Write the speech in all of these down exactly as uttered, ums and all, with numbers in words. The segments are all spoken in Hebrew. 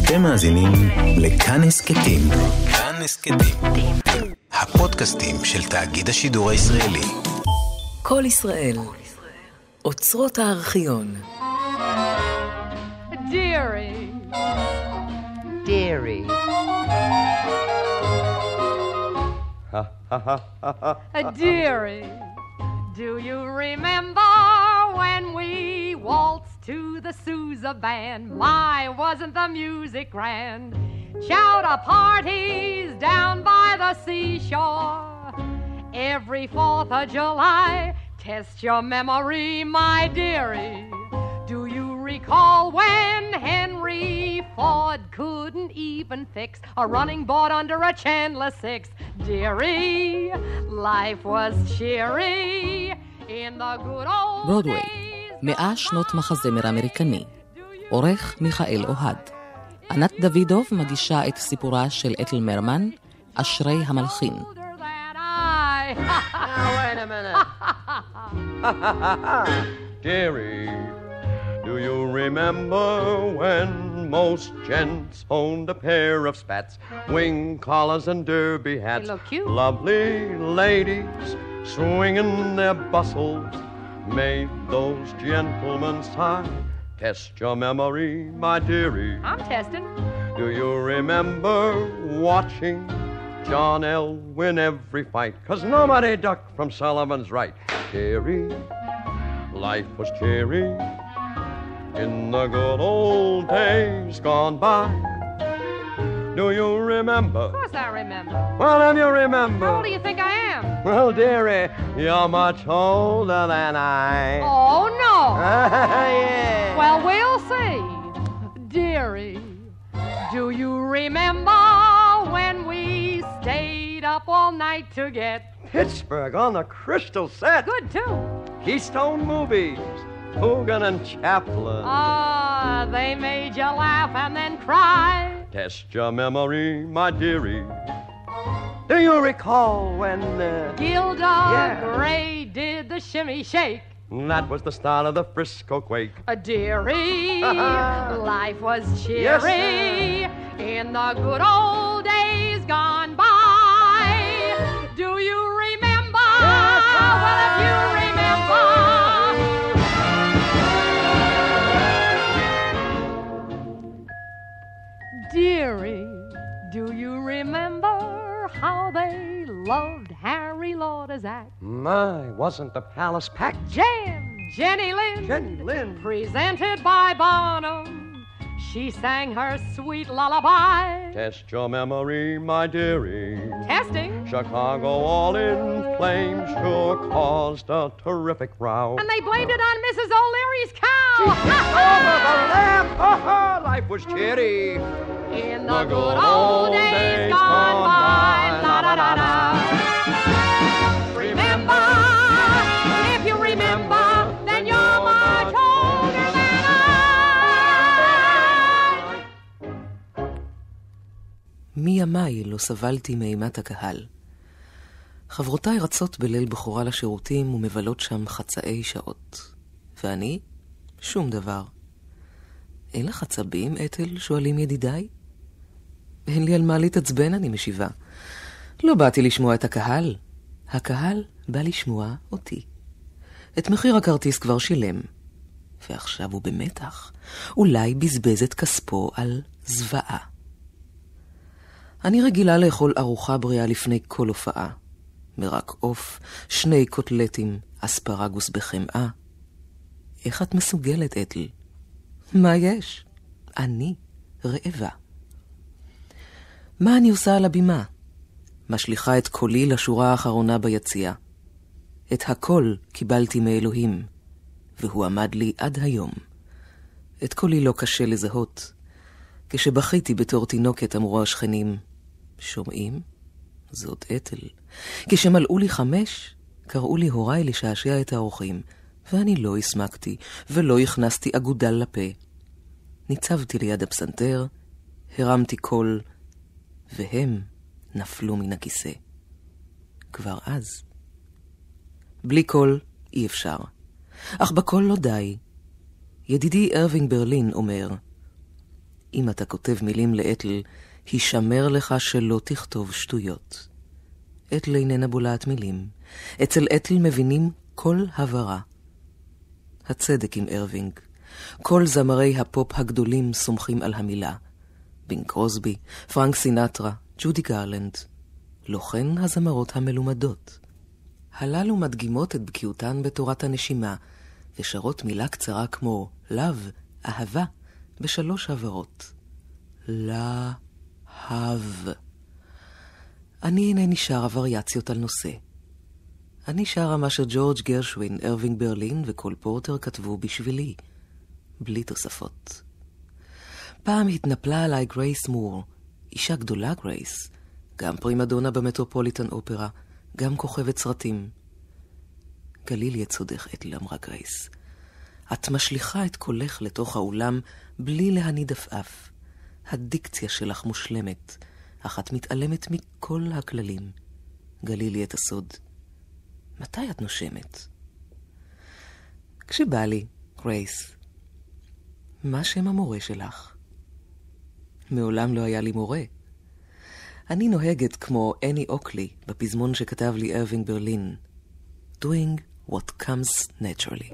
אתם מאזינים לכאן הסכתים. כאן הסכתים. הפודקאסטים של תאגיד השידור הישראלי. כל ישראל. אוצרות הארכיון. Dearie. Dearie. Dearie, do you remember when we waltzed to the Sousa band? My, wasn't the music grand? Chowder parties down by the seashore. Every fourth of July, test your memory, my dearie. Do you recall when Henry Ford couldn't even fix a running board under a Chandler six? Dearie, life was cheery in the good old ברודווי, days. מאה שנות מחזמר אמריקני. עורך מיכאל אוהד. ענת דוידוב מגישה את סיפורה של אתל מרמן, אשרי המלחין. Older than I. Now, wait a minute. Dearie, do you remember when most gents owned a pair of spats, wing collars and derby hats? They look cute. Lovely ladies swinging their bustles made those gentlemen sigh. Test your memory, my dearie. I'm testing. Do you remember watching John L. win every fight? 'Cause nobody ducked from Sullivan's right. Dearie, life was cheery in the good old days gone by. Do you remember? Of course I remember. Well, if you remember. How old do you think I am? Well, dearie, you're much older than I. Oh, no. Yeah. Well, we'll see. Dearie, do you remember when we stayed up all night to get Pittsburgh on the crystal set. good, too? Keystone Movies. Coogan and Chaplin. Ah, they made you laugh and then cry. Test your memory, my dearie. Do you recall when uh, Gilda Yeah. Gray did the shimmy shake. that was the start of the Frisco quake? A dearie, life was cheery in the good old days gone by. Do you remember? Well, if you remember. Dearie, do you remember how they loved Harry Lauder's act? My, wasn't the palace packed? Jan, Jenny Lind, Jenny Lind. presented by Bonham. She sang her sweet lullaby. Test your memory, my dearie. Testing. Chicago all in flames sure caused a terrific row. And they blamed it on Missus O'Leary's cow. Over the lamp, life was cheery. In the good old days gone by. La da da da. Remember, if you remember, then you're much older than I. מימיי לא סבלתי מאימת הקהל. חברותיי רצות בליל בחורה לשירותים ומבלות שם חצאי שעות. ואני? שום דבר. אין לך עצבים, אתל? שואלים ידידיי. אין לי על מה להתעצבן, אני משיבה. לא באתי לשמוע את הקהל. הקהל בא לשמוע אותי. את מחיר הכרטיס כבר שילם. ועכשיו הוא במתח. אולי בזבז את כספו על זוועה. אני רגילה לאכול ארוחה בריאה לפני כל הופעה. מרק עוף, שני קוטלטים, אספרגוס בחמאה. איך את מסוגלת, אתל? מה יש? אני רעבה. מה אני עושה על הבימה? משליחה את קולי לשורה האחרונה ביציאה. את הכל קיבלתי מאלוהים, והוא עמד לי עד היום. את קולי לא קשה לזהות. כשבכיתי בתור תינוקת אמרו השכנים, שומעים? זאת אתל. כשמלאו לי חמש, קראו לי הוריי לשעשע את האורחים, ואני לא הסמקתי ולא הכנסתי אגודל לפה. ניצבתי ליד הפסנתר, הרמתי קול, והם נפלו מן הכיסא. כבר אז. בלי קול אי אפשר. אך בקול לא די. ידידי ארווינג ברלין אומר, אם אתה כותב מילים לאתל, הישמר לך שלא תכתוב שטויות. אתל איננה בולעת מילים. אצל אתל מבינים כל הברה. הצדק עם ארווינג. כל זמרי הפופ הגדולים סומכים על המילה. בינג קרוסבי, פרנק סינטרה, ג'ודי גרלנד. לא כן הזמרות המלומדות. הללו מדגימות את בקיאותן בתורת הנשימה, ושרות מילה קצרה כמו לב, אהבה, בשלוש הברות. להב. אני אינני שרה וריאציות על נושא. אני שרה מה שג'ורג' גרשווין, ארווינג ברלין וקול פורטר כתבו בשבילי, בלי תוספות. פעם התנפלה עליי גרייס מור, אישה גדולה גרייס, גם פרימדונה במטרופוליטן אופרה, גם כוכבת סרטים. גליל יצודך, אתל, אמרה גרייס. את משליחה את קולך לתוך האולם בלי להניד עפעף. הדיקציה שלך מושלמת, אך את מתעלמת מכל הכללים. גלילי את הסוד. מתי את נושמת? כשבא לי, גרייס. מה שם המורה שלך? מעולם לא היה לי מורה. אני נוהגת כמו אני אוקלי בפזמון שכתב לי ארווינג ברלין. Doing what comes naturally.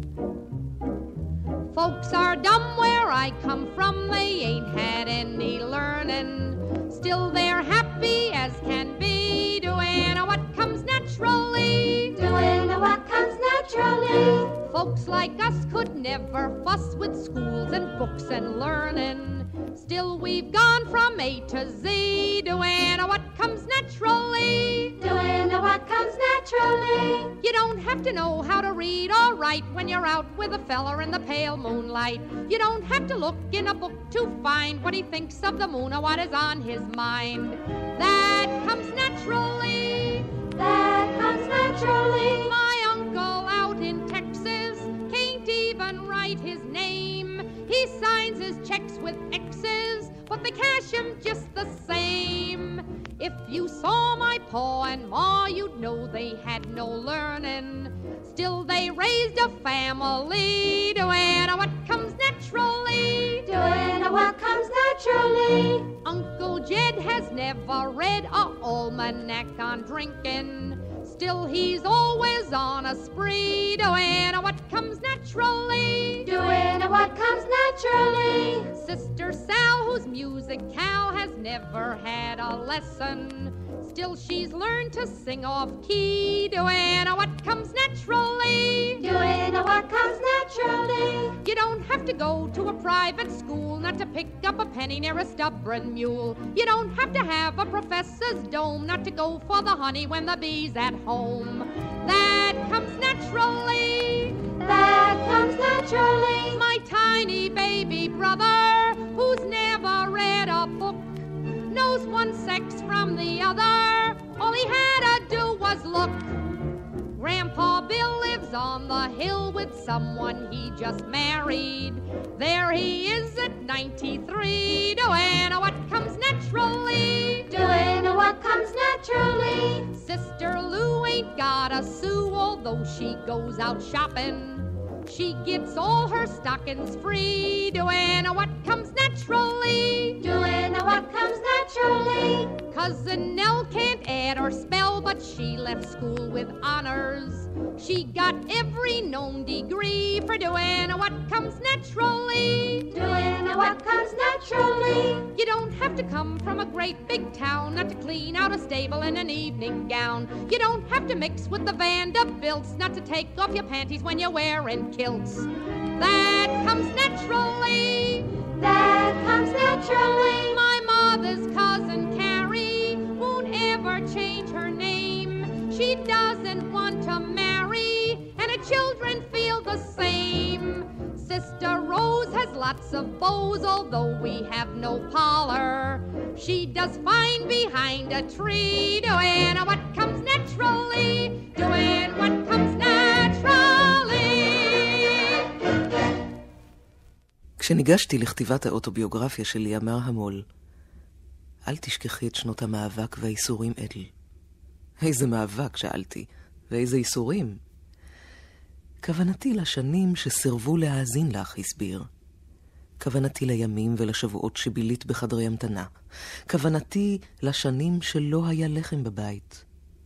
Folks are dumb where I come from, they ain't had any learning. Still they're happy as can be, doing what comes naturally. Doing what comes naturally. Folks like us could never fuss with schools and books and learning. Still we've gone from A to Z, doing what comes naturally. Doing what comes naturally. You don't have to know how to read or write when you're out with a fella in the pale moonlight. You don't have to look in a book to find what he thinks of the moon or what is on his mind. That comes naturally. That comes naturally. My uncle out in Texas can't even write his name. He signs his checks with X's, but they cash him just the same. If you saw my pa and ma, you'd know they had no learning. Still they raised a family, doing what comes naturally. Doing what comes naturally. Uncle Jed has never read a almanac on drinking. Still he's always on a spree, doing what comes naturally. Doing what comes naturally. Sister Sal, whose music Cal has never had a lesson. Still she's learned to sing off key, doing what comes naturally. Doing what comes naturally. You don't have to go to a private school not to pick up a penny near a stubborn mule. You don't have to have a professor's dome not to go for the honey when the bee's at home. That comes naturally. That comes naturally. My tiny baby brother, who's never read a book, knows one sex from the other. All he had to do was look. Grandpa Bill lives on the hill with someone he just married. There he is at ninety-three, doing what comes naturally. Doing what comes naturally. Sister Lou ain't got a sou, although she goes out shopping. She gets all her stockings free, doing what comes naturally. Doing what comes naturally. Cousin Nell can't add or spell, but she left school with honors. She got every known degree for doing what comes naturally. Doing what comes naturally. You don't have to come from a great big town not to clean out a stable in an evening gown. You don't have to mix with the Vanderbilts not to take off your panties when you're wearing kilts. That comes naturally. That comes naturally. My mother's cousin Carrie won't ever change her name. She doesn't want to marry, and her children feel the same. Sister Rose has lots of beaux, although we have no parlor. She does fine behind a tree, doing what comes naturally. Doing what comes naturally. כשניגשתי לכתיבת האוטוביוגרפיה שלי, אמר המול, אל תשכחי את שנות המאבק והאיסורים, אתל. איזה מאבק, שאלתי, ואיזה איסורים? כוונתי לשנים שסירבו להאזין לך, הסביר. כוונתי לימים ולשבועות שבילית בחדרי המתנה. כוונתי לשנים שלא היה לחם בבית.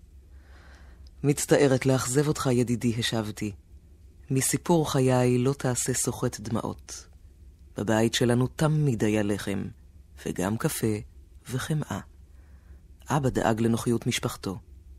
מצטערת לאכזב אותך, ידידי, השבתי. מסיפור חיי לא תעשה סוחט דמעות. בבית שלנו תמיד היה לחם, וגם קפה וחמאה. אבא דאג לנוחיות משפחתו.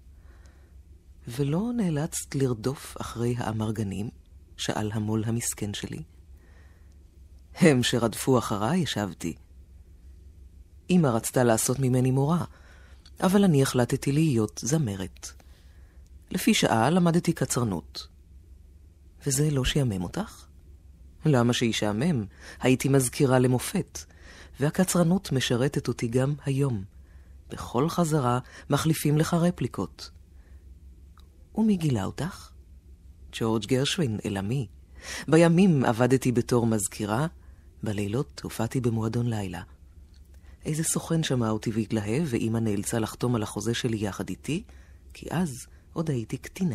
ולא נאלצת לרדוף אחרי האמרגנים? שאל המול המסכן שלי. הם שרדפו אחריי, ישבתי. אמא רצתה לעשות ממני מורה, אבל אני החלטתי להיות זמרת. לפי שעה למדתי קצרנות. וזה לא שיאמם אותך? למה שישעמם? הייתי מזכירה למופת, והקצרנות משרתת אותי גם היום. בכל חזרה מחליפים לך רפליקות. ומי גילה אותך? ג'ורג' גרשווין, אלמי. בימים עבדתי בתור מזכירה, בלילות הופעתי במועדון לילה. איזה סוכן שמע אותי והתלהב, ואמא נאלצה לחתום על החוזה שלי יחד איתי, כי אז עוד הייתי קטינה.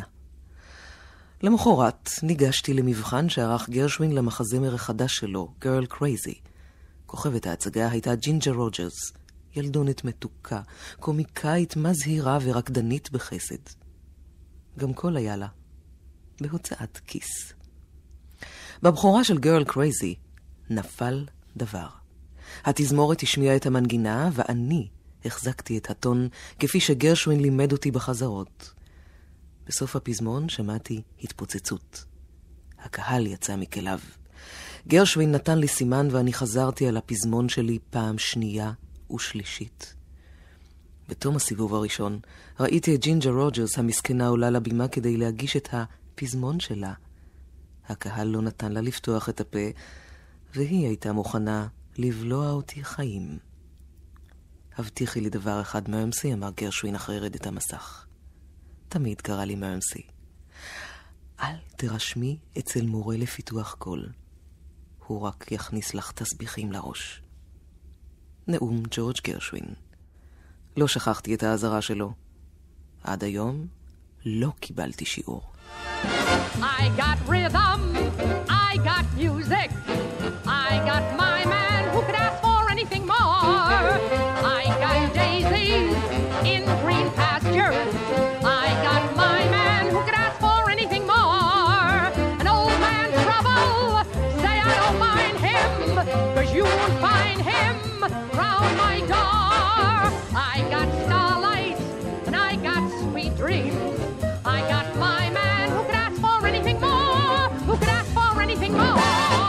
למחרת ניגשתי למבחן שערך גרשווין למחזמר החדש שלו, Girl Crazy. כוכבת ההצגה הייתה ג'ינג'ר רוג'רס, ילדונת מתוקה, קומיקאית מזהירה ורקדנית בחסד. גם קול היה לה, בהוצאת כיס. בבחורה של Girl Crazy נפל דבר. התזמורת השמיעה את המנגינה, ואני החזקתי את הטון כפי שגרשווין לימד אותי בחזרות. בסוף הפזמון שמעתי התפוצצות. הקהל יצא מכליו. גרשווין נתן לי סימן ואני חזרתי על הפזמון שלי פעם שנייה ושלישית. בתום הסיבוב הראשון ראיתי את ג'ינג'ר רוג'רס המסכנה עולה לבימה כדי להגיש את הפזמון שלה. הקהל לא נתן לה לפתוח את הפה, והיא הייתה מוכנה לבלוע אותי חיים. הבטיחי לי דבר אחד, מרמסי, אמר גרשווין אחרי רדת המסך. תמיד קרא לי מרמסי. אל תרשמי אצל מורה לפיתוח קול. הוא רק יכניס לך תסביכים לראש. נאום ג'ורג' גרשווין. לא שכחתי את העזרה שלו. עד היום לא קיבלתי שיעור. I got rhythm, I got music, I got my man who could ask for anything more. I got daisies in green pastures, I got my man who could ask for anything more. An old man trouble, say I don't mind him, 'cause you won't find him round my door. I got starlight and I got sweet dreams, I got my man who could ask for anything more, who could ask for anything more.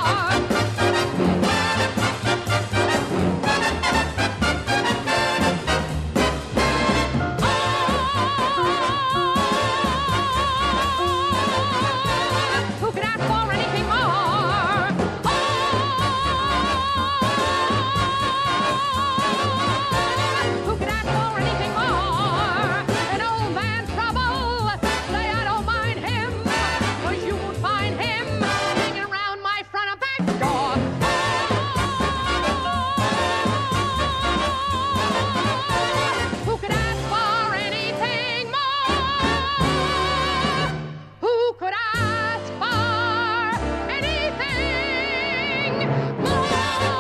Who could ask for anything more? Who could ask for anything more? An old man trouble, say I don't mind him, 'cause you won't find him hanging around my front or back door. Who could ask for anything more? Who could ask for anything more?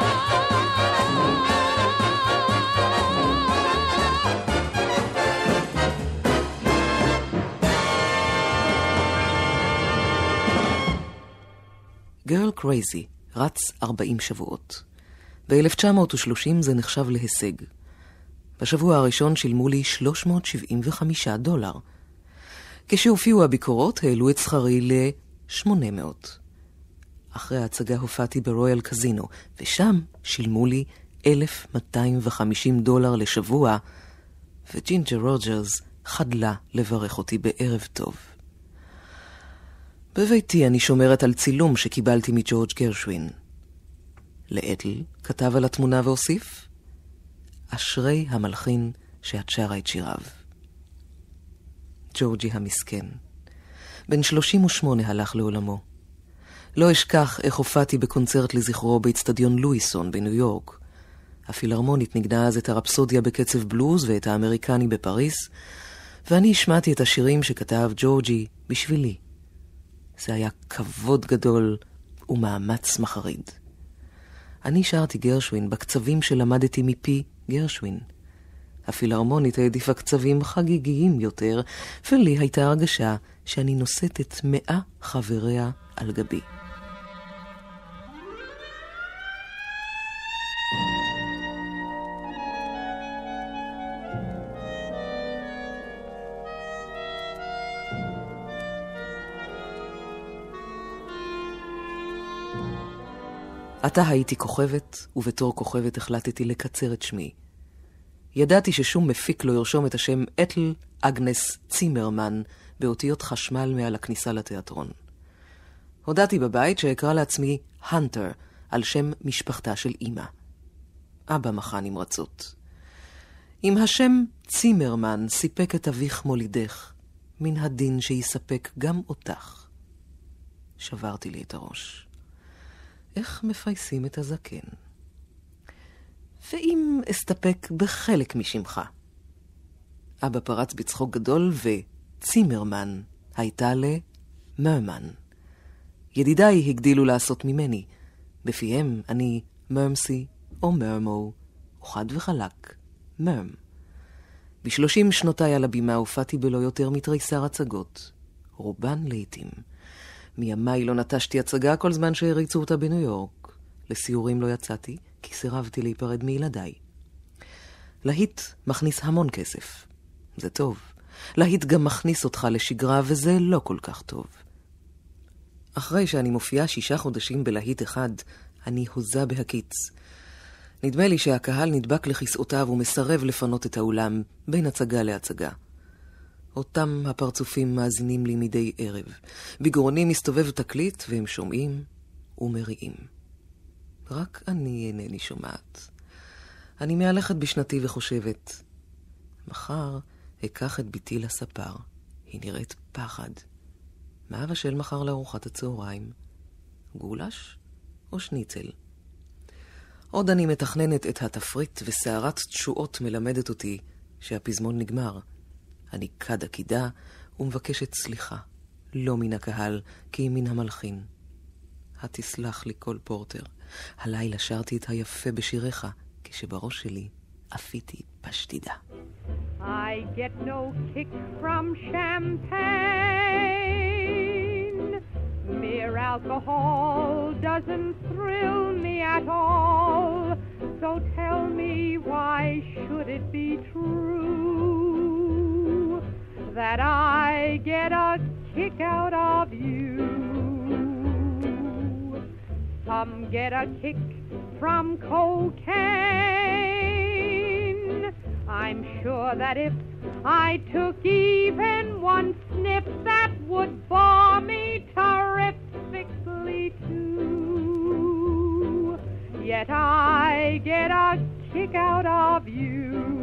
Girl Crazy רץ ארבעים שבועות. ב-אלף תשע מאות ושלושים זה נחשב להישג. בשבוע הראשון שילמו לי שלוש מאות שבעים וחמישה דולר. כשהופיעו הביקורות העלו את שכרי ל-שמונה מאות. אחרי ההצגה הופעתי ברויאל קזינו, ושם שילמו לי אלף מאתיים וחמישים דולר לשבוע, וג'ינג'ר רוג'רס חדלה לברך אותי בערב טוב. בביתי אני שומרת על צילום שקיבלתי מג'ורג' גרשווין. לאתל כתב על התמונה והוסיף, אשרי המלחין שאת שרה את שיריו. ג'ורג'י המסכן. בן שלושים ושמונה הלך לעולמו. לא אשכח איך הופעתי בקונצרט לזכרו באצטדיון לואיסון בניו יורק. הפילהרמונית נגנה אז את הרפסודיה בקצב בלוז ואת האמריקני בפריס, ואני השמעתי את השירים שכתב ג'ורג'י בשבילי. זה היה כבוד גדול ומאמץ מחריד. אני שרתי גרשווין בקצבים שלמדתי מפי גרשווין. הפילהרמונית העדיפה קצבים חגיגיים יותר, ולי הייתה הרגשה שאני נושאת את מאה חבריה על גבי. עתה הייתי כוכבת, ובתור כוכבת החלטתי לקצר את שמי. ידעתי ששום מפיק לא ירשום את השם אתל אגנס צימרמן באותיות חשמל מעל הכניסה לתיאטרון. הודעתי בבית שאקרא לעצמי הנטר, על שם משפחתה של אמא. אבא מחה נמרצות. אם השם צימרמן סיפק את אביך מולידך, מן הדין שיספק גם אותך. שברתי לי את הראש. איך מפייסים את הזקן? ואם אסתפק בחלק משמך? אבא פרץ בצחוק גדול, וצימרמן הייתה למרמן. ידידיי הגדילו לעשות ממני. בפיהם אני מרמסי או מרמו, וחד וחלק, מרם. בשלושים שנותיי על הבימה הופעתי בלא יותר מתריסר הצגות, רובן לעתים. מימיי לא נטשתי הצגה כל זמן שהריצו אותה בניו יורק. לסיורים לא יצאתי, כי סירבתי להיפרד מילדיי. להיט מכניס המון כסף. זה טוב. להיט גם מכניס אותך לשגרה, וזה לא כל כך טוב. אחרי שאני מופיעה שישה חודשים בלהיט אחד, אני הוזה בהקיץ. נדמה לי שהקהל נדבק לכיסאותיו ומסרב לפנות את האולם בין הצגה להצגה. אותם הפרצופים מאזינים לי מדי ערב. בגרוני מסתובב תקליט והם שומעים ומריעים. רק אני אינני שומעת. אני מהלכת בשנתי וחושבת, מחר אקח את ביתי לספר. היא נראית פחד. מה אבשל מחר לארוחת הצהריים? גולש או שניצל? עוד אני מתכננת את התפריט, וסערת תשועות מלמדת אותי שהפזמון נגמר. אני קד עקידה ומבקשת סליחה, לא מן הקהל, כי מן המלחין. התסלח לי כל פורטר. הלילה שרתי את היפה בשיריך, כשבראש שלי אפיתי פשטידה. I get no kick from champagne. Mere alcohol doesn't thrill me at all. So tell me, why should it be true that I get a kick out of you? Some get a kick from cocaine. I'm sure that if I took even one sniff, that would bore me terrifically too. Yet I get a kick out of you.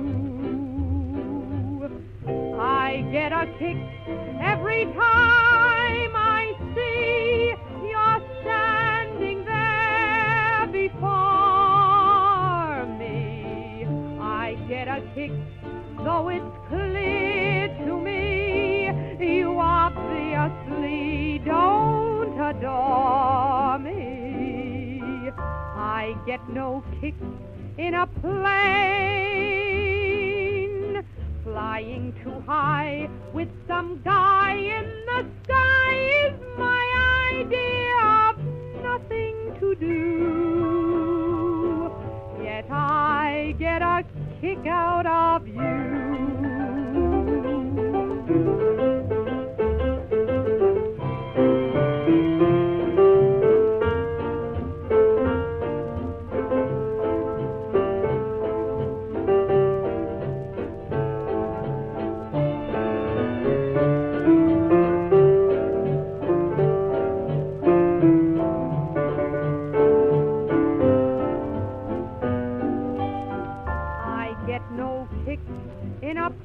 I get a kick every time I see you're standing there before me. I get a kick, though it's clear to me you obviously don't adore me. I get no kick in a plane, flying too high with some guy in the sky is my idea of nothing to do. Yet I get a kick out of you. In a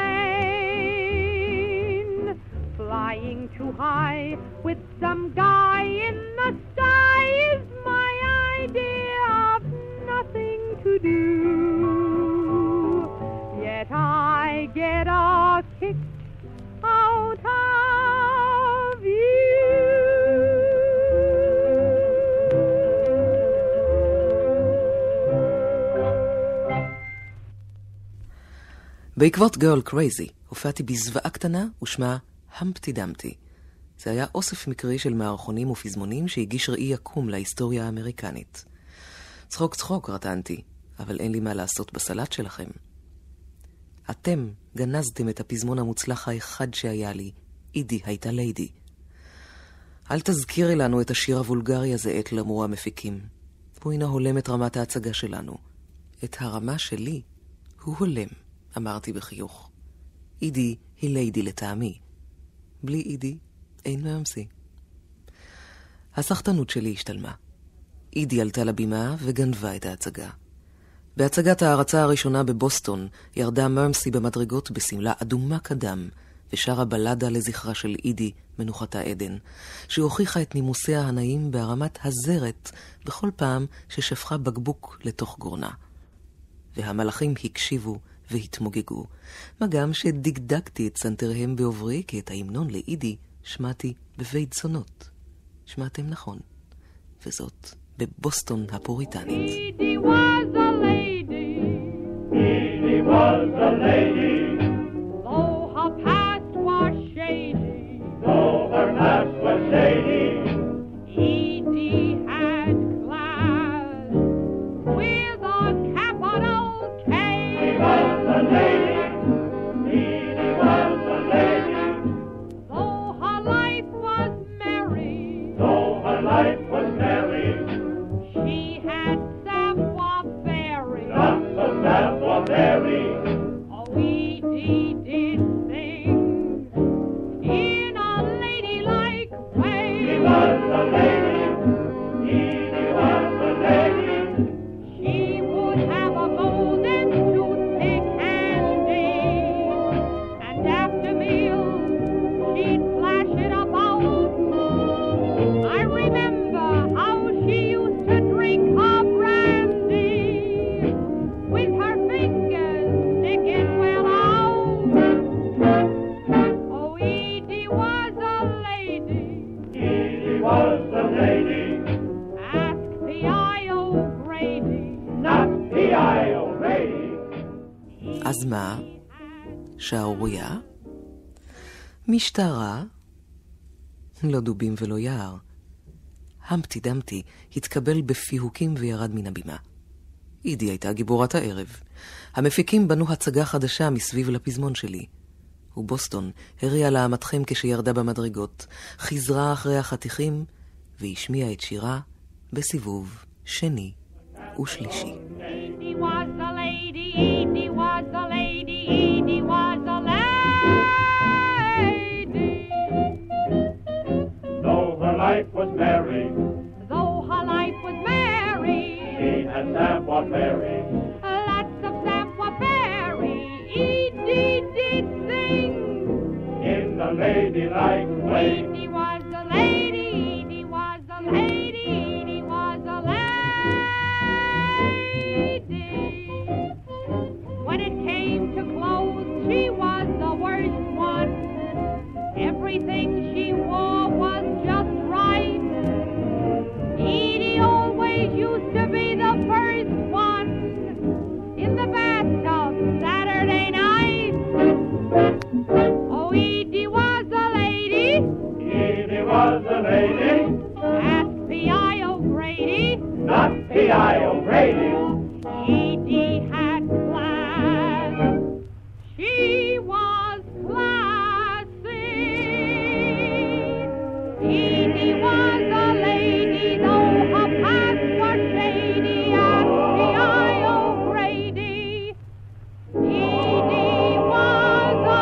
plane, flying too high with some guy in the sky is my idea of nothing to do. Yet I get a kick out of you. בעקבות Girl Crazy הופעתי בזוועה קטנה ושמה המפטי דמפטי. זה היה אוסף מקרי של מערכונים ופזמונים שהגיש ראי יקום להיסטוריה האמריקנית. צחוק צחוק רטנתי, אבל אין לי מה לעשות בסלט שלכם. אתם גנזתם את הפזמון המוצלח האחד שהיה לי, אידי הייתה ליידי. אל תזכירי לנו את השיר הוולגרי הזה, עת למרו המפיקים. הוא אינו הולם את רמת ההצגה שלנו. את הרמה שלי הוא הולם, אמרתי בחיוך. אידי היא ליידי לטעמי. בלי אידי אין מאמסי. הסחטנות שלי השתלמה. אידי עלתה לבימה וגנבה את ההצגה. בהצגת ההרצה הראשונה בבוסטון ירדה מרמסי במדרגות בסמלה אדומה קדם ושרה בלדה לזכרה של אידי מנוחתה עדן, שהוכיחה את נימוסיה הנעים בהרמת הזרת בכל פעם ששפכה בקבוק לתוך גורנה. והמלאכים הקשיבו והתמוגגו, מה גם שדקדקתי את סנטריהם בעוברי, כי את ההמנון לאידי שמעתי בבית זונות. שמעתם נכון, וזאת בבוסטון הפוריטנית. Edie was a lady, Edie was a lady, though her past was shady. though her past was shady. Edie had class with a capital K. She was a lady, Edie was a lady, Though her life was merry, though her life was merry. she had savoir-faire. Lots of savoir-faire. Oh, Edie did things in a ladylike way. She was a lady, Edie was a lady. She would have a golden toothpick handy, and after meals she'd flash it about. I remember how she used to drink her brandy with her fingers sticking well out. Oh, Edie was a lady. Edie was a lady, Ask P.I.O. Grady. not P I O'Grady. אז מה? שערוריה? משטרה? לא דובים ולא יער. המפטי דמפטי התקבל בפיהוקים וירד מן הבימה. אידי הייתה גיבורת הערב. המפיקים בנו הצגה חדשה מסביב לפזמון שלי. ובוסטון הריעה לעמתכם כשירדה במדרגות, חזרה אחרי החתיכים והשמיעה את שירה בסיבוב שני ושלישי. Edie was a lady, Edie was a lady, Edie was a lady. Though her life was merry, Though her life was merry, she had savoir-faire. lots of savoir-faire. Edie did things. In the ladylike way. Edie was a lady, Edie was a lady, Edie was a lady. When it came to clothes, she was the worst one. Everything she wore was just right. Edie always used to be the first one in the bathtub Saturday night. Oh, Edie was a lady. Edie was a lady, Ask P I O'Grady. not P I O'Grady. Edie had class. She was classy. Edie was a lady, though her past was shady. Ask P I O'Grady. Edie was a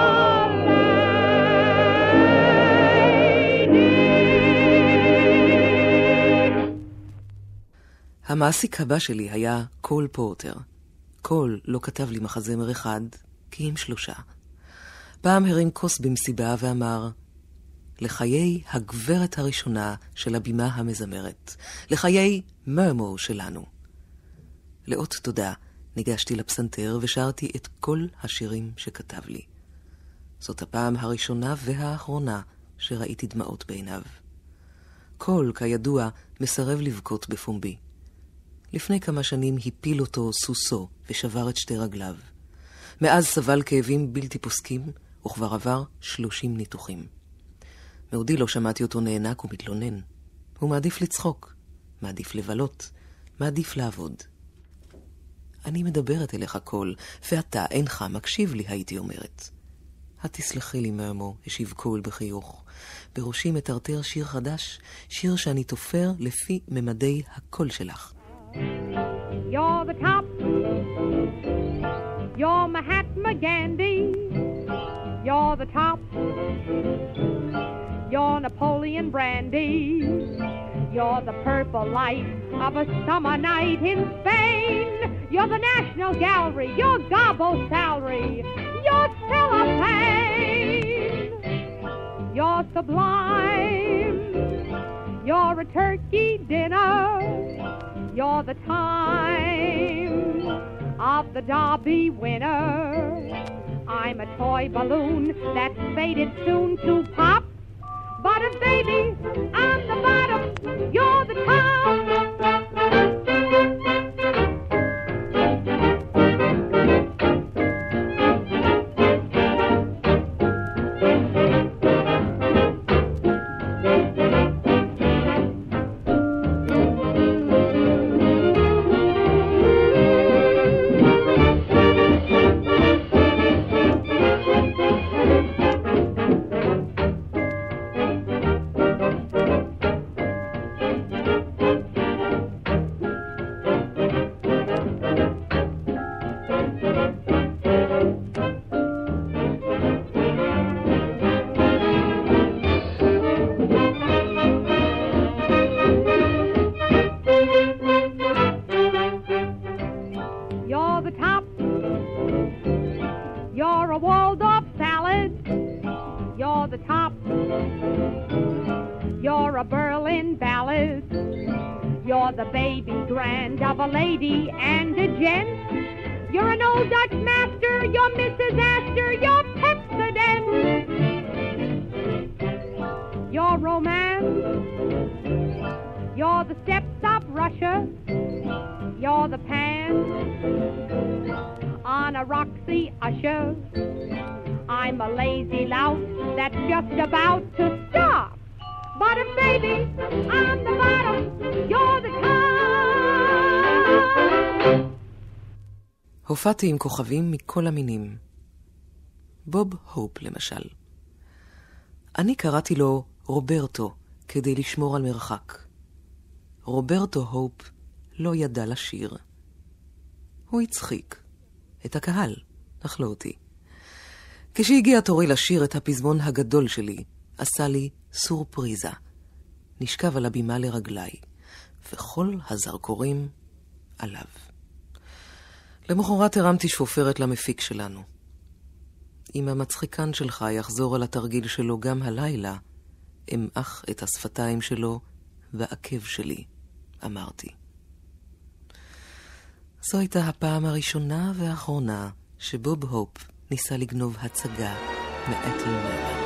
lady. המעסיק הבא שלי היה קול פורטר. קול לא כתב לי מחזמר אחד, כי עם שלושה. פעם הרים כוס במסיבה ואמר, לחיי הגברת הראשונה של הבימה המזמרת, לחיי מרמו שלנו. לאות תודה ניגשתי לפסנתר ושרתי את כל השירים שכתב לי. זאת הפעם הראשונה והאחרונה שראיתי דמעות בעיניו. קול, כידוע, מסרב לבכות בפומבי. לפני כמה שנים הפיל אותו סוסו ושבר את שתי רגליו. מאז סבל כאבים בלתי פוסקים, וכבר עבר שלושים ניתוחים. מעודי לא שמעתי אותו נענק ומתלונן. הוא מעדיף לצחוק, מעדיף לבלות, מעדיף לעבוד. אני מדברת אליך קול, ואתה אינך מקשיב לי, הייתי אומרת. התסלחי לי, מרמו, השיב קול בחיוך. בראשי מטרטר שיר חדש, שיר שאני תופר לפי ממדי הקול שלך. You're the top, you're Mahatma Gandhi, you're the top, you're Napoleon Brandy, you're the purple light of a summer night in Spain, you're the National Gallery, you're Gobbo's salary, you're cellophane, you're sublime, you're a turkey dinner, you're the time of the Derby winner. I'm a toy balloon that's fated soon to pop. But if baby, I'm the bottom, you're the top. I'm a lazy lout that's just about to stop. But if baby, I'm the bottom, you're the top. הופעתי עם כוכבים מכל המינים. בוב הופ למשל. אני קראתי לו רוברטו כדי לשמור על מרחק. רוברטו הופ לא ידע לשיר. הוא הצחיק את הקהל, אך לא אותי. כשהגיע תורי לשיר את הפזמון הגדול שלי, עשה לי סורפריזה. נשכב על הבימה לרגליי, וכל הזרקורים עליו. למחרת הרמתי שפופרת למפיק שלנו. אם המצחיקן שלך יחזור על התרגיל שלו גם הלילה, אמח את השפתיים שלו ועקב שלי, אמרתי. זו הייתה הפעם הראשונה והאחרונה שבוב הופ ניסה לגנוב הצגה מאתל מרמן.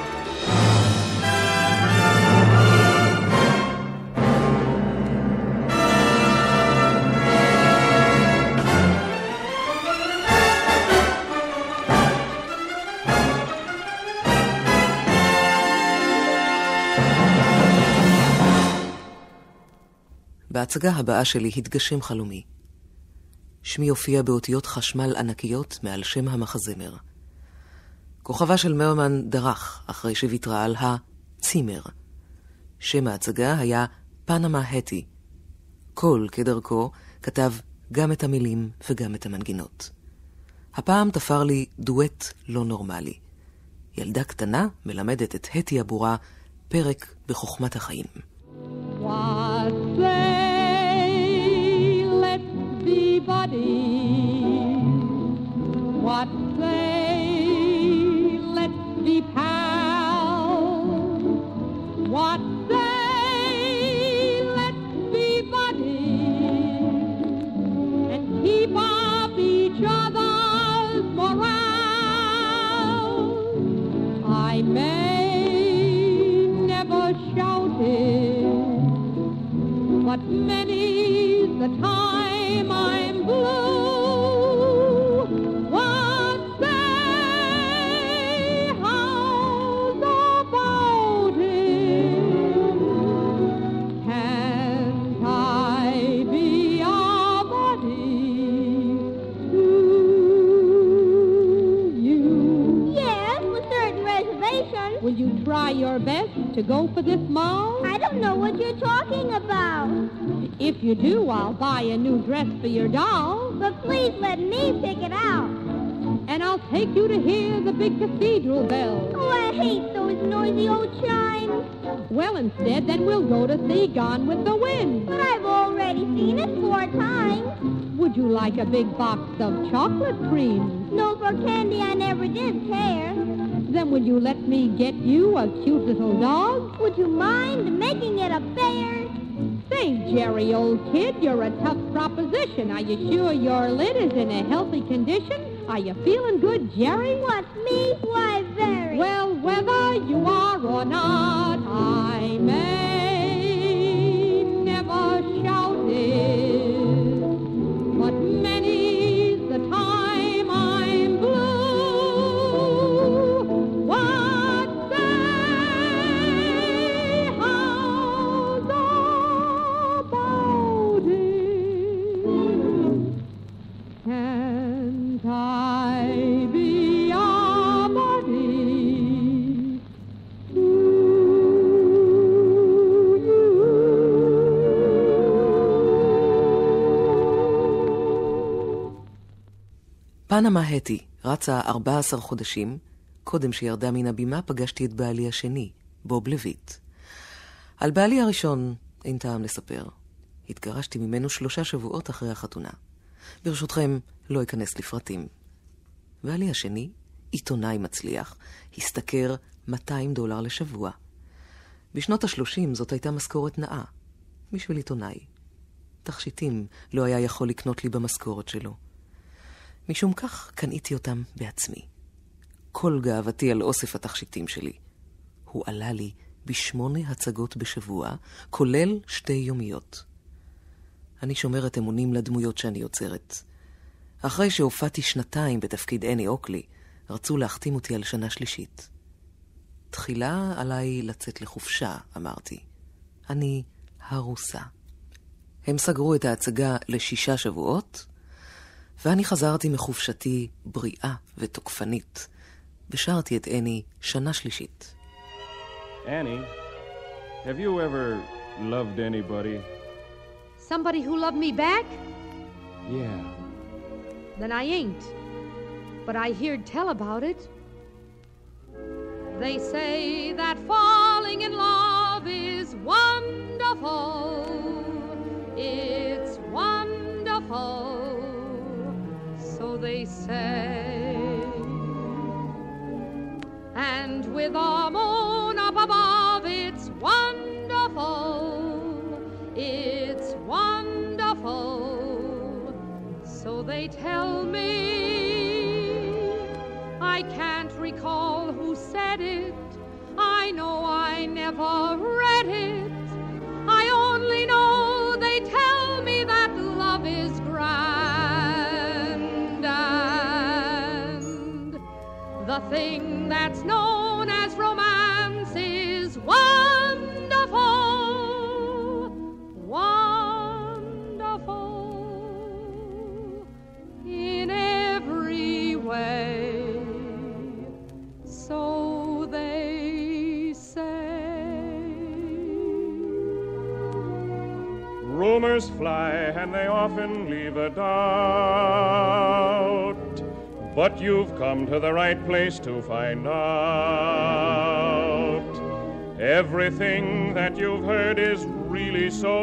בהצגה הבאה שלי התגשם חלומי. שמי הופיע באותיות חשמל ענקיות מעל שם המחזמר. כוכבה של מרמן דרך אחרי שוויתרה על הצימר. שם ההצגה היה פנמה הטי. קול כדרכו כתב גם את המילים וגם את המנגינות. הפעם תפר לי דואט לא נורמלי. ילדה קטנה מלמדת את הטי הבורה פרק בחוכמת החיים. What say, let's be buddies. What say, let's be pals. What say, let's be buddies and keep up each other's morale. I may never shout it, but many's the time I'm blue. What's your best to go for this mall? I don't know what you're talking about. If you do, I'll buy a new dress for your doll. But please let me pick it out. And I'll take you to hear the big cathedral bells. Oh, I hate those noisy old chimes. Well, instead, then we'll go to see Gone with the Wind. But I've already seen it four times. Would you like a big box of chocolate cream? No, for candy I never did care. Then would you let me get you a cute little dog? Would you mind making it a bear? Say, Jerry, old kid, you're a tough proposition. Are you sure your lid is in a healthy condition? Are you feeling good, Jerry? What, me? Why, very. Well, whether you are or not, I may never shout it, but many's the time I'm blue. What say, how's about it? Can't I be a buddy to you? פנמה הטי רצה ארבעה עשר חודשים. קודם שירדה מן הבימה פגשתי את בעלי השני, בוב לויט. על בעלי הראשון אין טעם לספר. התגרשתי ממנו שלושה שבועות אחרי החתונה. ברשותכם, לא אכנס לפרטים. בעלי השני, עיתונאי מצליח, השתכר מאתיים דולר לשבוע. בשנות השלושים זאת הייתה משכורת נאה. בשביל עיתונאי. תכשיטים לא היה יכול לקנות לי במשכורת שלו. משום כך קניתי אותם בעצמי. כל גאוותי על אוסף התכשיטים שלי. הוא עלה לי בשמונה הצגות בשבוע, כולל שתי יומיות. אני שומרת אמונים לדמויות שאני יוצרת. אחרי שהופעתי שנתיים בתפקיד אני אוקלי, רצו להחתים אותי על שנה שלישית. תחילה עליי לצאת לחופשה, אמרתי. אני הרוסה. הם סגרו את ההצגה לשישה שבועות, ואני חזרתי מחופשתי בריאה ותוקפנית. ושרתי את אני שנה שלישית. Annie, have you ever loved anybody? Somebody who loved me back? Yeah. Then I ain't. But I heard tell about it. They say that falling in love is wonderful. It's wonderful. So they say. And with a moon up above, it's wonderful. It's wonderful. So they tell me. I can't recall who said it. I know I never read it. I only know they tell me that love is grand. And the thing that's known as romance is wonderful. Wonderful. In every way. So they say. Rumors fly and they often leave a doubt, but you've come to the right place to find out. Everything that you've heard is really so.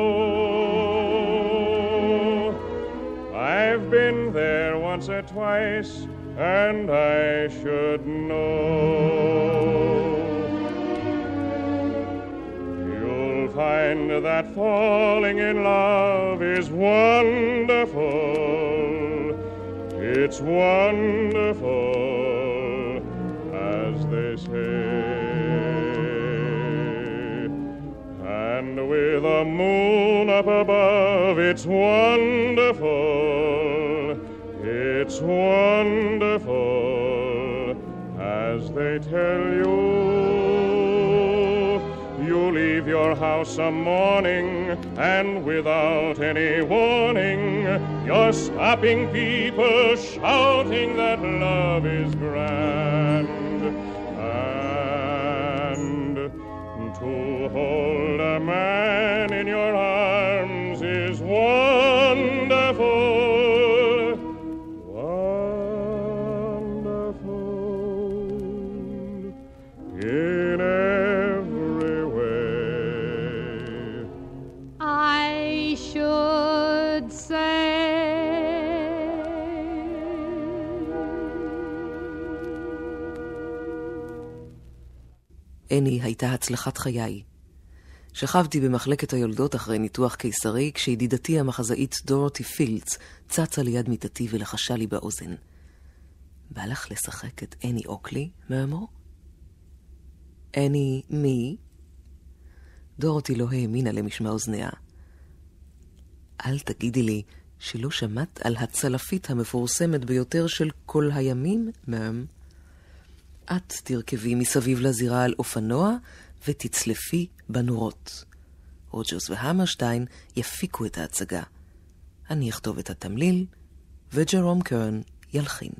I've been there once or twice, and I should know. You'll find that falling in love is wonderful. It's wonderful, as they say. And with a moon up above, it's wonderful. It's wonderful, as they tell you. You leave your house some morning, and without any warning, you're stopping people, shouting that love is grand. And To hold a man in your arms is wonderful, wonderful in every way. I should say. אני הייתה הצלחת חיי. שכבתי במחלקת היולדות אחרי ניתוח קיסרי, כשידידתי המחזאית דורותי פילדס צצה ליד מיטתי ולחשה לי באוזן. בא לך לשחק את אני אוקלי, מאמו? אני מי? דורותי לא האמינה למשמע אוזניה. אל תגידי לי שלא שמעת על הצלפית המפורסמת ביותר של כל הימים, מאם? את תרכבי מסביב לזירה על אופנוע ותצלפי בנורות. רוג'רס והמרשטיין יפיקו את ההצגה. אני אכתוב את התמליל, וג'רום קרן ילחין.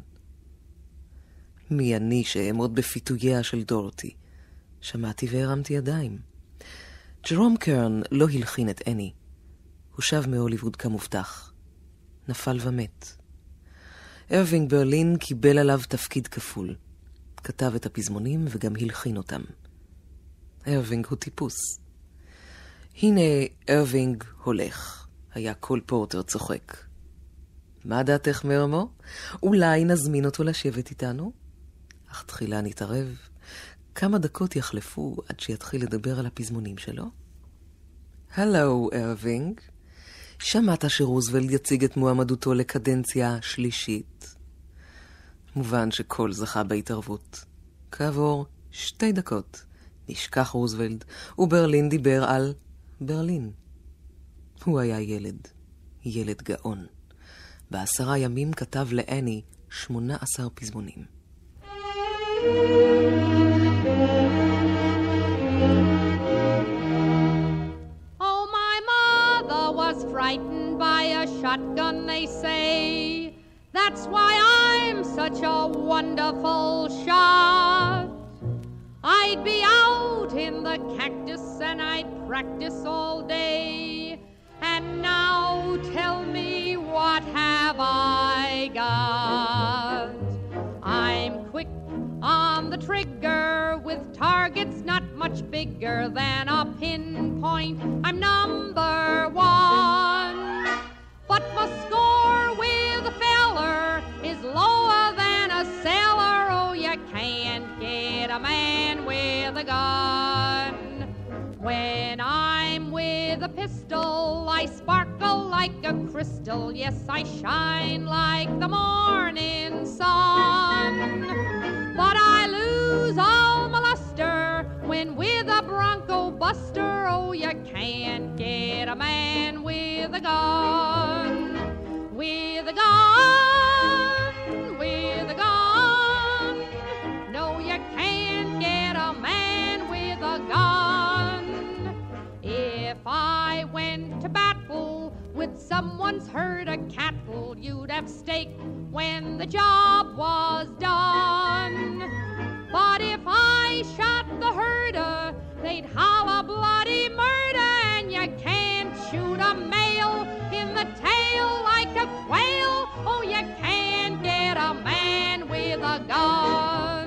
מי אני שאעמוד בפיתוייה של דורותי? שמעתי והרמתי ידיים. ג'רום קרן לא הלחין את אני. הוא שב מהוליווד כמובטח. נפל ומת. ארווינג ברלין קיבל עליו תפקיד כפול. כתב את הפזמונים וגם הלחין אותם. ארווינג הוא טיפוס. הנה ארווינג הולך. היה כל פורטר צוחק. מה דעתך מרמו? אולי נזמין אותו לשבת איתנו? אך תחילה נתערב. כמה דקות יחלפו עד שיתחיל לדבר על הפזמונים שלו? הלו ארווינג. שמעת שרוזוולד יציג את מועמדותו לקדנציה שלישית? מובן שכל זכה בהתערבות. כעבור שתי דקות נשכח רוזוולד, וברלין דיבר על ברלין. הוא היה ילד, ילד גאון. בעשרה ימים כתב לאני שמונה עשר פזמונים. Oh, my mother was frightened by a shotgun, they say. That's why I'm such a wonderful shot. I'd be out in the cactus and I'd practice all day. And now tell me, what have I got? I'm quick on the trigger with targets not much bigger than a pinpoint. I'm number one. But my score with a feller is lower than a sailor. Oh, you can't get a man with a gun. When I'm with a pistol, I sparkle like a crystal. Yes, I shine like the morning sun. But I lose all my luster when with a bronco buster. Oh, you can't get a man with a gun. With a gun, with a gun. No, you can't get a man with a gun. If I went to battle with someone's herd of cattle, you'd have steak when the job was done. But if I shot the herder, they'd holler bloody murder. And you can't shoot a male in the tail like a quail. Oh, you can't get a man with a gun.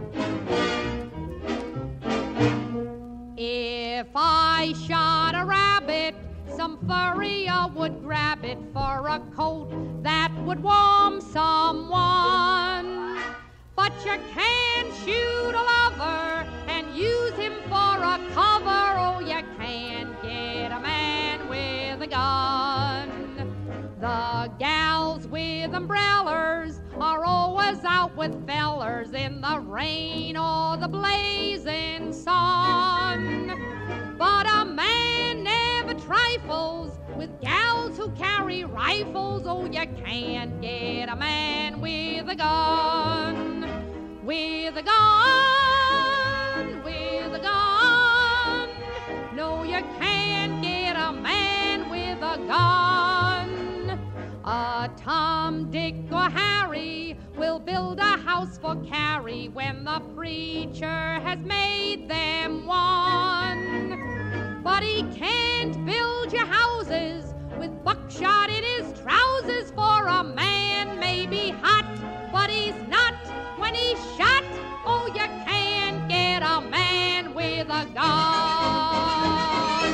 If I shot a rabbit, some furrier would grab it for a coat that would warm someone. But you can't shoot a lover and use him for a cover. Oh, you can't get a man with a gun. The gals with umbrellas are always out with fellers in the rain or the blazing sun. But a man never trifles with gals who carry rifles. Oh, you can't get a man with a gun. With a gun, with a gun. No, you can't get a man with a gun. A Tom Dick or Harry will build a house for Carrie when the preacher has made them one. But he can't build your houses with buckshot in his trousers, for a man may be hot, but he's not when he's shot. Oh, you can't get a man with a gun.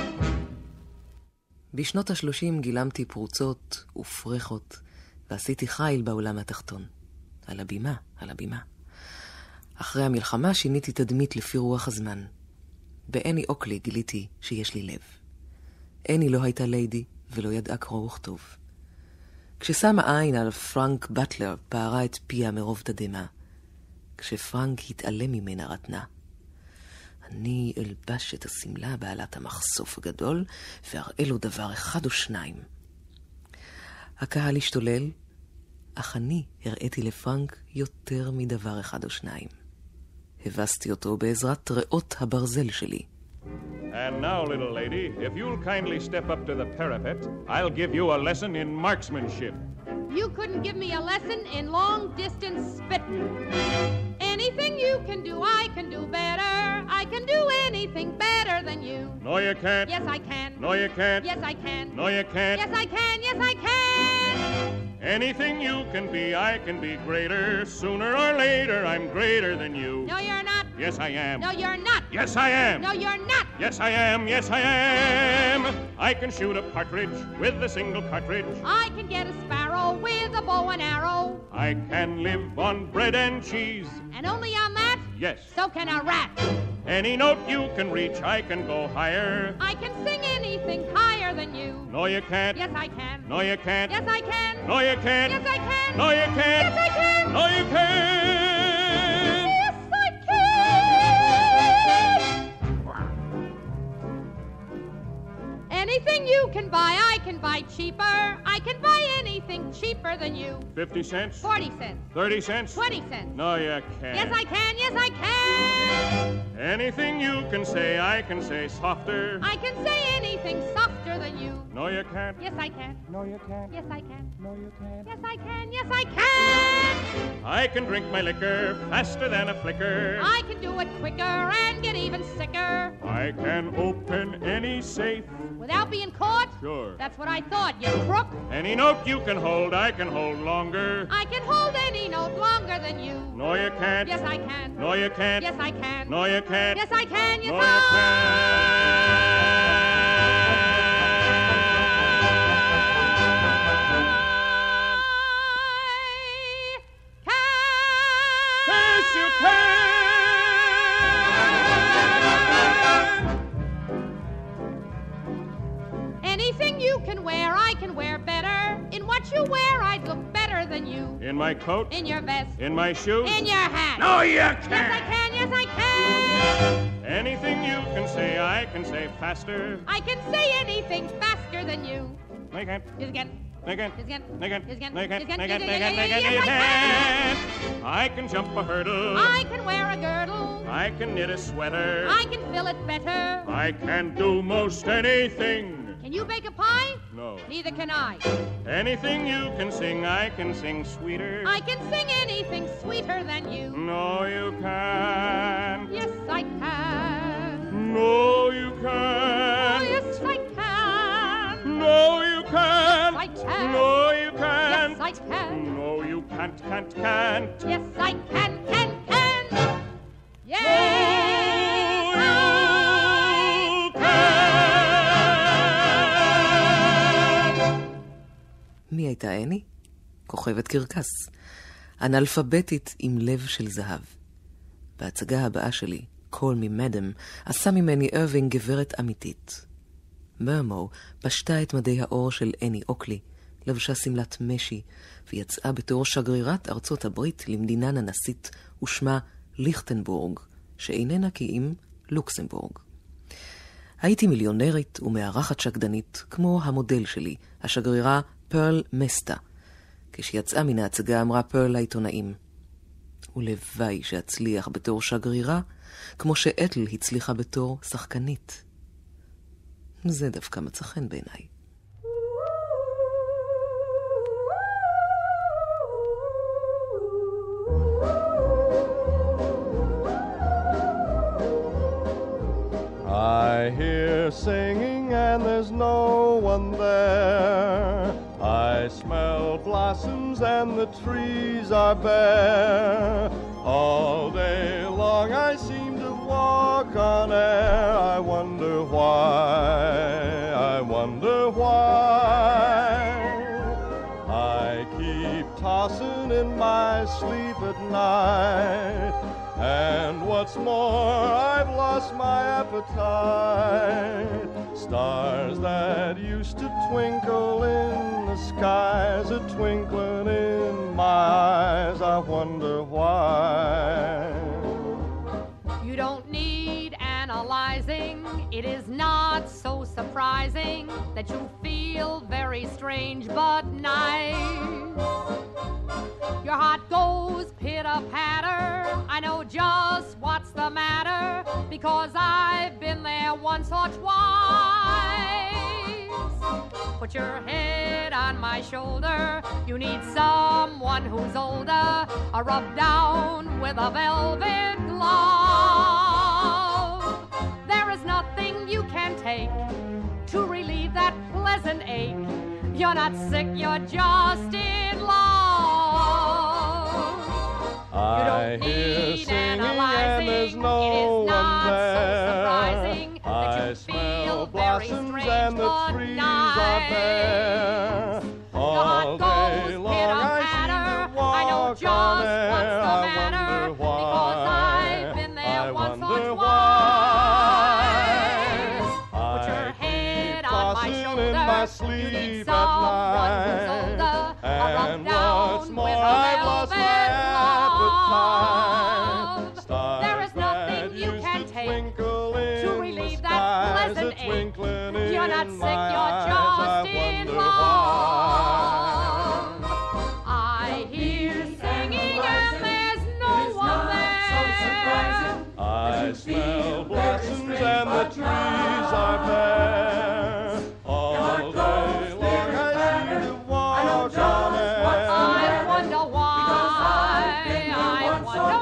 בשנות השלושים גילמתי פרוצות ופרחות, ועשיתי חיל בעולם התחתון. על הבימה, על הבימה. אחרי המלחמה שיניתי תדמית לפי רוח הזמן. באני אוקלי גיליתי שיש לי לב. אני לא הייתה ליידי ולא ידעה קרוא וכתוב. כששמה עין על פרנק בטלר פערה את פיה מרוב תדמה. כשפרנק התעלם ממנה רתנה. אני אלבש את הסמלה בעלת המחשוף הגדול ואראה לו דבר אחד או שניים. הקהל השתולל, אך אני הראיתי לפרנק יותר מדבר אחד או שניים. הבסתי אותו בעזרת ריאות הברזל שלי. And now, little lady, if you'll kindly step up to the parapet, I'll give you a lesson in marksmanship. You couldn't give me a lesson in long-distance spitting. Anything you can do, I can do better. I can do anything better than you. No, you can't. Yes, I can. No, you can't. Yes, I can. No, you can't. Yes, I can. Yes, I can. Anything you can be, I can be greater. Sooner or later, I'm greater than you. No, you're not. Yes, I am. No, you're not. Yes, I am. No, you're not. Yes, I am. Yes, I am. I can shoot a partridge with a single cartridge. I can get a sparrow with a bow and arrow. I can live on bread and cheese. And only on that? Yes. So can a rat. Any note you can reach, I can go higher. I can sing anything higher than you. No, you can't. Yes, I can. No, you can't. Yes, I can. No, you can't. Yes, I can. No, you can't. Yes, I can. No, you can't. Yes, I can. Anything you can buy, I can buy cheaper. I can buy anything cheaper than you. Fifty cents? Forty cents. Thirty cents? Twenty cents. No, you can't. Yes, I can. Yes, I can. Anything you can say, I can say softer. I can say anything softer than you. No, you can't. Yes, I can. No, you can't. Yes, I can. No, you can't. Yes, I can. Yes, I can. I can drink my liquor faster than a flicker. I can do it quicker and get even sicker. I can open any safe. Without being caught? Sure. That's what I thought, you crook. Any note you can hold, I can hold longer. I can hold any note longer than you. No, you can't. Yes, I can. No, you can't. Yes, I can. No, you can't. Yes, I can. Yes, No, I you can't. Yes, you can. Anything you can wear, I can wear better. In what you wear, I'd look better than you. In my coat. In your vest. In my shoes. In your hat. No, you Yes, I can't. can. Yes, I can. Anything you can say, I can say faster. I can say anything faster than you. No, you can't. Yes, again. No, you can't. Yes, again. No, you can't. Yes, again. No, you can't. Yes, again. No, you can't. Yes, No, you again. can't. No, you Yes, can't. No, you I can't. I can jump a hurdle. I can wear a girdle. I can knit a sweater. I can fill it better. I can do most anything. Can you bake a pie? No. Neither can I. Anything you can sing, I can sing sweeter. I can sing anything sweeter than you. No, you can't. Yes, I can. No, you Oh, can't. yes, I can. No, you can't. Yes, I can. No, you can't. Yes, I can. No, you can't, can't, can't. Yes, I can, can, can. Yes, I מי הייתה אני? כוכבת קרקס. אנאלפביתית עם לב של זהב. בהצגה הבאה שלי, Call Me Madam, עשה ממני ארווינג גברת אמיתית. מרמו פשטה את מדי האור של אני אוקלי, לבשה סמלת משי, ויצאה בתור שגרירת ארצות הברית למדינה ננסית, ושמה ליכטנבורג, שאיננה כי אם לוקסמבורג. הייתי מיליונרית ומארחת שקדנית, כמו המודל שלי, השגרירה פרל מסטה. כשיצאה מן ההצגה אמרה פרל לעיתונאים, ולוואי שאצליח בתור שגרירה, כמו שאתל הצליחה בתור שחקנית. זה דווקא מצא חן בעיניי. hear singing and there's no one there. I smell blossoms and the trees are bare. All day long I seem to walk on air. I wonder why, I wonder why. I keep tossing in my sleep at night, and what's more, I've lost my appetite. Stars that used to twinkle in the skies are twinkling in my eyes. I wonder why. You don't need analyzing. It is not so surprising that you feel very strange but nice. Your heart goes pitter-patter. I know just what's the matter, because I've been there once or twice. Put your head on my shoulder. You need someone who's older, or rub down with a velvet glove. There is nothing you can take to relieve that pleasant ache. You're not sick, you're just in love. I hear singing and there's no one there. I smell blossoms and the trees are bare. All day long I seem to walk on air. I wonder why, I wonder why. I keep tossing in my sleep at night, and what's more, I've lost my appetite. Stars that used to twinkle in the skies are twinkling in You're not sick, my you're eyes. just I in wonder love. why. I hear singing and there's no one there. I smell blossoms and the trees are bare. All day long I seem to walk on air. I wonder why. I wonder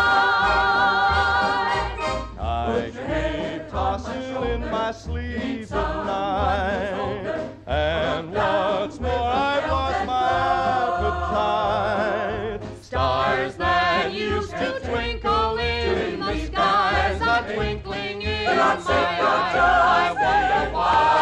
why. I keep tossing in my sleep at night, and what's more, I've lost my appetite. Stars that used to twinkle in the skies are twinkling in my eyes. I wonder why.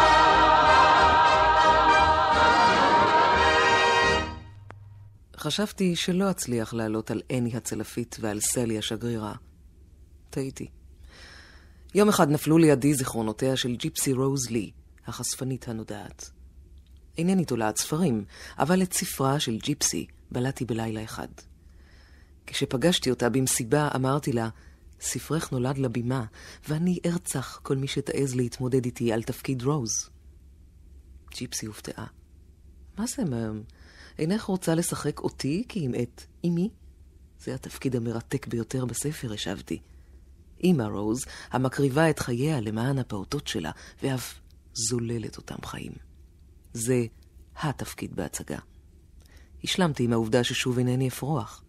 חשבתי שלא אצליח לעלות על אני הצלפית ועל סלי השגרירה. טעיתי. יום אחד נפלו לידי זיכרונותיה של ג'יפסי רוז לי, החשפנית הנודעת. אינני תולעת ספרים, אבל את ספרה של ג'יפסי בלעתי בלילה אחד. כשפגשתי אותה במסיבה אמרתי לה, ספרך נולד לבימה, ואני ארצח כל מי שתעז להתמודד איתי על תפקיד רוז. ג'יפסי הופתעה. מה זה, מהם? אינך רוצה לשחק אותי כי אם את אמי? זה התפקיד המרתק ביותר בספר, השבתי. אמא רוז, המקריבה את חייה למען הפעוטות שלה, ואף זוללת אותם חיים. זה התפקיד בהצגה. השלמתי עם העובדה ששוב אינני אפרוח.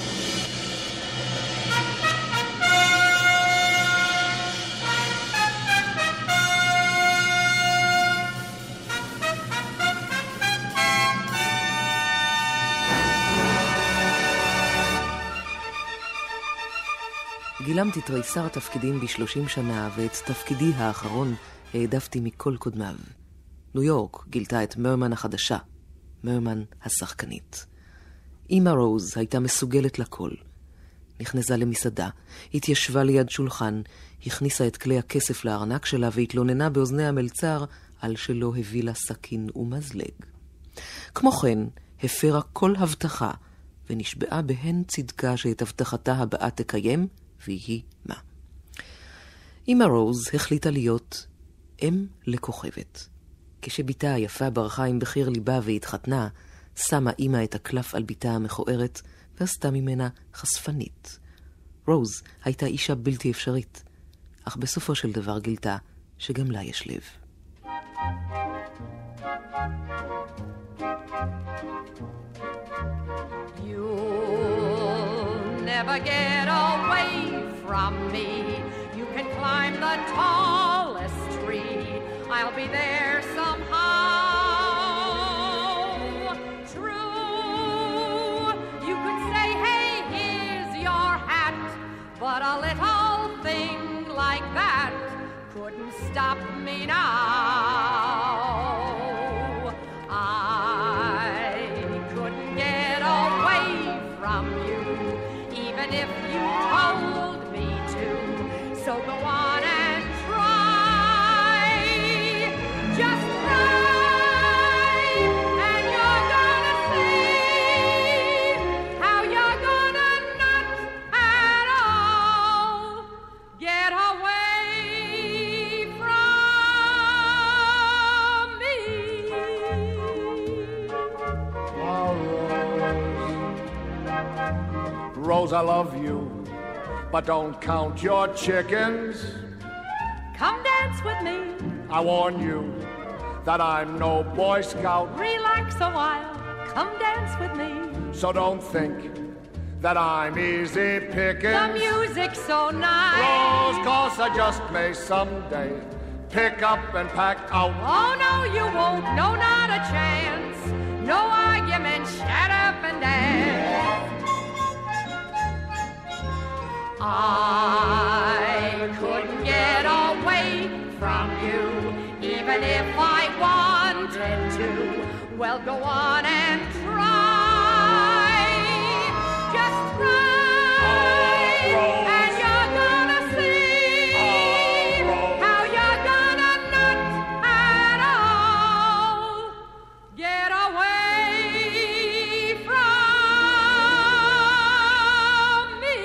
גילמתי תריסר תפקידים בשלושים שנה, ואת תפקידי האחרון העדפתי מכל קודמיו. ניו יורק גילתה את מרמן החדשה, מרמן השחקנית. אמא רוז הייתה מסוגלת לכל. נכנסה למסעדה, התיישבה ליד שולחן, הכניסה את כלי הכסף לארנק שלה והתלוננה באוזני המלצר על שלא הביא לה סכין ומזלג. כמו כן, הפרה כל הבטחה ונשבעה בהן צדקה שאת הבטחתה הבאה תקיים, והיא מה. אמא רוז החליטה להיות אם לכוכבת. כשביתה היפה ברחה עם בחיר ליבה והתחתנה, שמה אמא את הקלף על ביתה המכוערת ועשתה ממנה חשפנית. רוז הייתה אישה בלתי אפשרית, אך בסופו של דבר גילתה שגם לה יש לב. You'll never get away from me. You can climb the tallest tree I'll be there somehow. True, you could say, hey, here's your hat, but a little thing like that couldn't stop me now. I couldn't get away from you, even if you told me to. So go on and try, just try, and you're gonna see how you're gonna not at all get away from me. Oh, Rose, Rose, I love you, but don't count your chickens. Come dance with me. I warn you that I'm no Boy Scout. Relax a while. Come dance with me. So don't think that I'm easy pickings. The music's so nice. Rose, 'cause I just may someday pick up and pack out. Oh, no, you won't. No, not a chance. No argument. Shut up and dance. I couldn't get away from you, even if I wanted to. Well, go on and try. Just try, oh, and you're gonna see oh, how you're gonna not at all get away from me.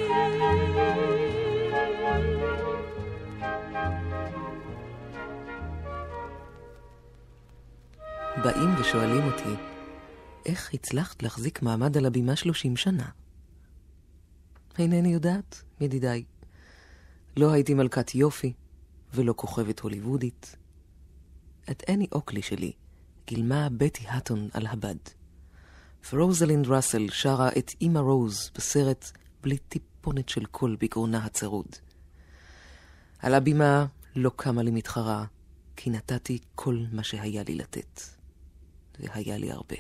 באים ושואלים אותי, איך הצלחת להחזיק מעמד על הבימה שלושים שנה? אינני יודעת, ידידיי. לא הייתי מלכת יופי, ולא כוכבת הוליוודית. את אני אוקלי שלי גילמה בטי האטון על הבד. ורוזלינד ראסל שרה את אמא רוז בסרט בלי טיפונת של קול בגרונה הצרוד. על הבימה לא קמה לי מתחרה, כי נתתי כל מה שהיה לי לתת. והיה לי הרבה.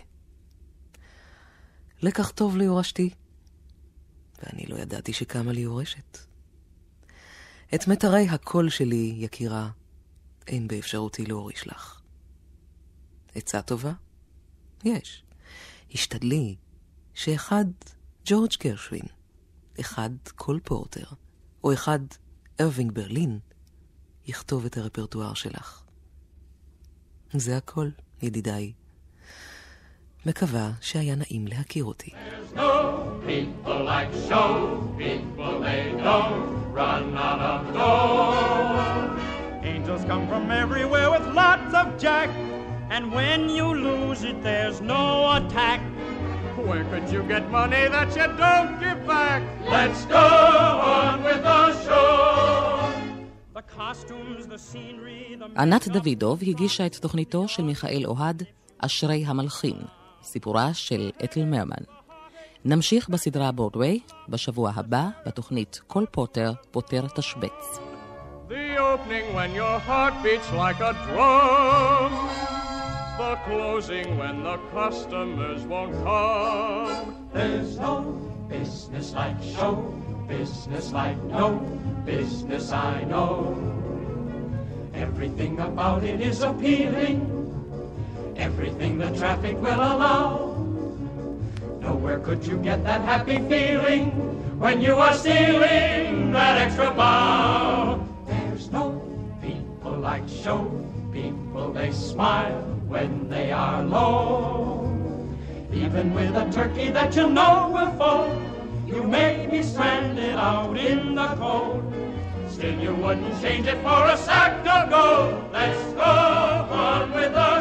לקח טוב ליורשתי, ואני לא ידעתי שקמה לי יורשת. את מטרי הקול שלי, יקירה, אין באפשרותי להוריש לך. עצה טובה? יש. השתדלי שאחד ג'ורג' גרשווין, אחד קול פורטר, או אחד ארווינג ברלין, יכתוב את הרפרטואר שלך. זה הכל, ידידיי. מקווה שהיה נעים להכיר אותי. There's no people like show people, they don't run out of dough. Angels come from everywhere with lots of jack, and when you lose it, there's no attack. Where could you get money that you don't give back? Let's go on with the show. The costumes, the scenery, the... ענת דוידוב הגישה את תוכניתו של מיכאל אוהד, אשרי המלחין, סיפורה של אתל מרמן. נמשיך בסדרה ברודווי בשבוע הבא בתוכנית כל פוטר פוטר תשבץ. The opening when your heart beats like a drum. The closing when the customers won't come. There's no business like show business like no business I know. Everything about it is appealing. Everything the traffic will allow. Nowhere could you get that happy feeling when you are stealing that extra bow. There's no people like show people, they smile when they are low. Even with a turkey that you know will fall, you may be stranded out in the cold. Still you wouldn't change it for a sack of gold. Let's go on with the